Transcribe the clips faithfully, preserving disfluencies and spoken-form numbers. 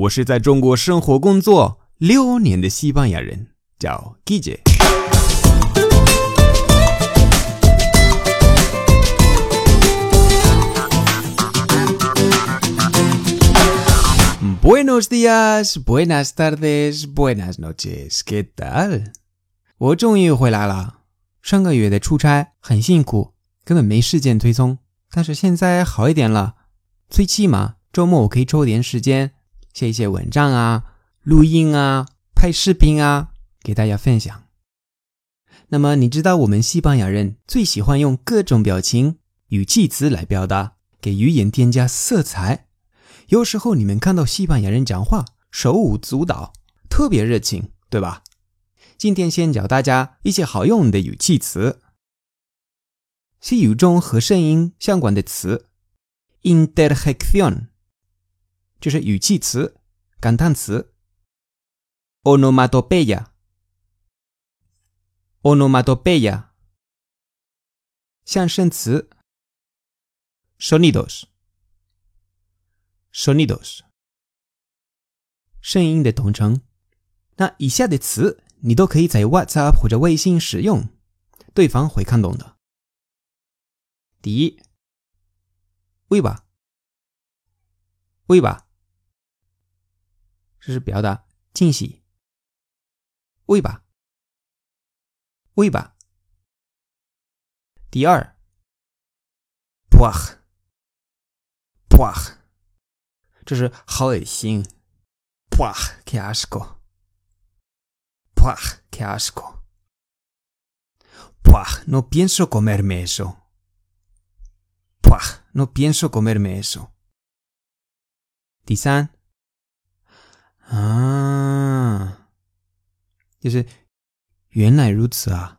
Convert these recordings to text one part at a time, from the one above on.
我是在中国生活工作六年的西班牙人，叫 Guille。Buenos días, buenas tardes, buenas noches, ¿qué tal? 我终于回来了，上个月的出差很辛苦，根本没时间推送，但是现在好一点了，最起码周末我可以抽点时间写一些文章啊，录音啊，拍视频啊，给大家分享。那么你知道我们西班牙人最喜欢用各种表情、语气词来表达，给语言添加色彩。有时候你们看到西班牙人讲话手舞足蹈，特别热情，对吧？今天先教大家一些好用的语气词。西语中和声音相关的词 interjección 就是语气词、感叹词。onomatopeya onomatopeya 象声词 sonidos sonidos 声音的统称。那以下的词你都可以在 WhatsApp 或者微信使用，对方会看懂的。第一 Uiba Uiba 这是表达惊喜。 Uiba Uiba 第二 Puah Puah 这是好恶心。 Puah, qué asco Puah, qué asco Puah, no pienso comerme eso Puah, no pienso comerme eso 第三啊，就是原来如此啊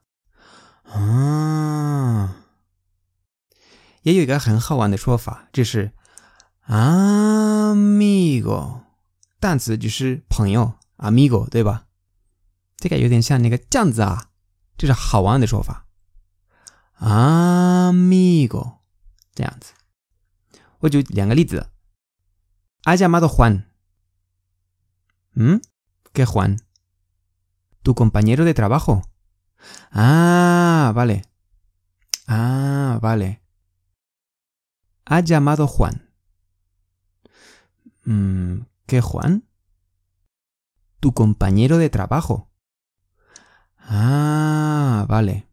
啊，也有一个很好玩的说法，就是 amigo 单词就是朋友 amigo 对吧？这个有点像那个这样子啊，这是好玩的说法 amigo 这样子。我就两个例子。 Ha llamado Juan ¿Mm? ¿Qué Juan? ¿Tu compañero de trabajo? Ah, vale. Ah, vale. Ha llamado Juan. Mm, ¿Qué Juan? ¿Tu compañero de trabajo? Ah, vale.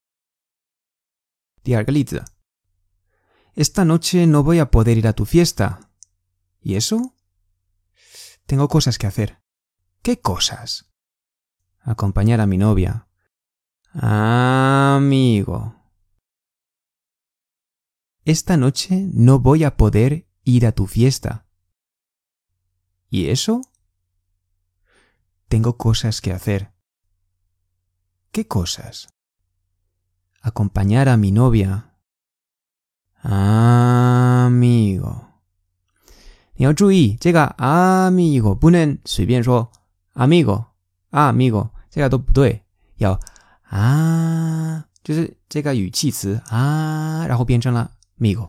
第二个例子。 Esta noche no voy a poder ir a tu fiesta. ¿Y eso? Tengo cosas que hacer. ¿Qué cosas? Acompañar a mi novia. Amigo. Esta noche no voy a poder ir a tu fiesta. ¿Y eso? Tengo cosas que hacer. ¿Qué cosas? Acompañar a mi novia. Amigo. 你要注意这个 amigo 不能随便说 amigo amigo 这个都不对，要啊，就是这个语气词啊，然后变成了 amigo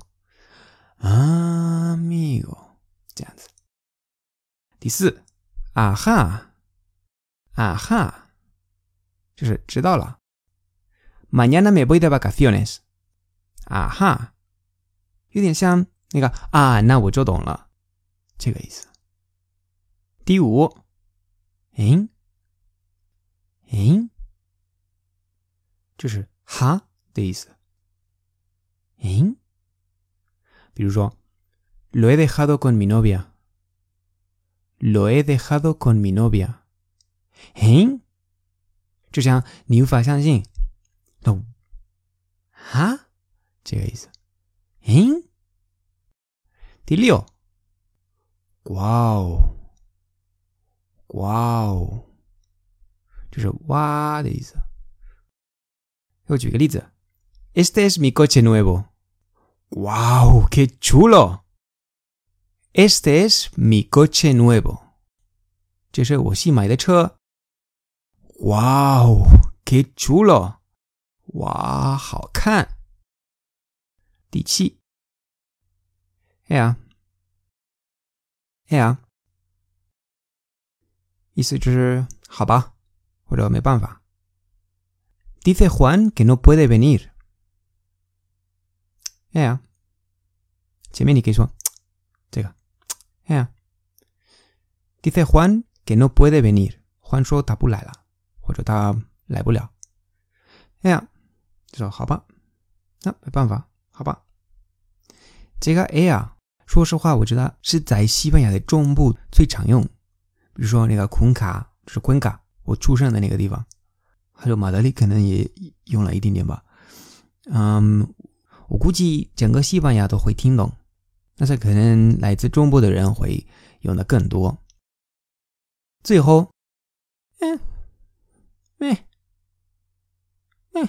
amigo 这样子。第四 aha aha 就是知道了。 Mañana me voy de vacaciones. Aha 有点像那个啊，那我就懂了这个意思。第五 ¿En? ¿En? 就是哈的意思。 ¿En? 比如说 Lo he dejado con mi novia. Lo he dejado con mi novia. ¿En? 就像你无法相信 No 哈这个意思。 ¿En? 第六 Wow Wow 就是哇的意思。我举个例子。 Este es mi coche nuevo. Wow, qué chulo. Este es mi coche nuevo. 这是我新买的车。 Wow, qué chulo. 哇，好看。第七 Yeah Yeah 意思就是好吧，或者没办法。Dice Juan que no puede venir. 哎呀，前面你可以说这个，哎呀。Dice Juan que no puede venir. Juan 说他不来了，或者他来不了。哎呀，就说好吧，那没办法，好吧。这个哎呀，说实话，我知道是在西班牙的中部最常用。比如说那个昆卡，就是昆卡，我出生的那个地方，还有马德里可能也用了一点点吧。嗯，我估计整个西班牙都会听懂，但是可能来自中部的人会用的更多。最后，嗯，嗯，嗯，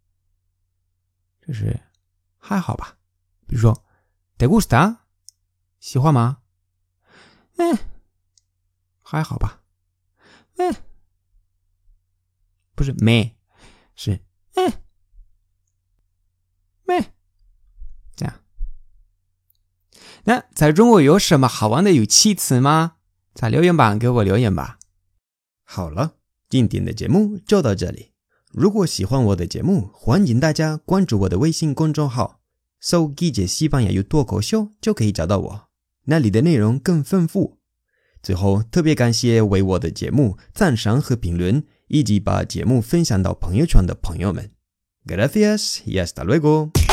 就是还好吧。比如说 ，¿te gusta？ 喜欢吗？嗯，还好吧。嗯，不是没，是嗯，没，这样。那在中国有什么好玩的语气词吗？在留言板给我留言吧。 好了，今天的节目就到这里。如果喜欢我的节目，欢迎大家关注我的微信公众号，搜“记者西班牙语脱口秀”就可以找到我，那里的内容更丰富。最后，特别感谢为我的节目赞赏和评论，以及把节目分享到朋友圈的朋友们。Gracias y hasta luego.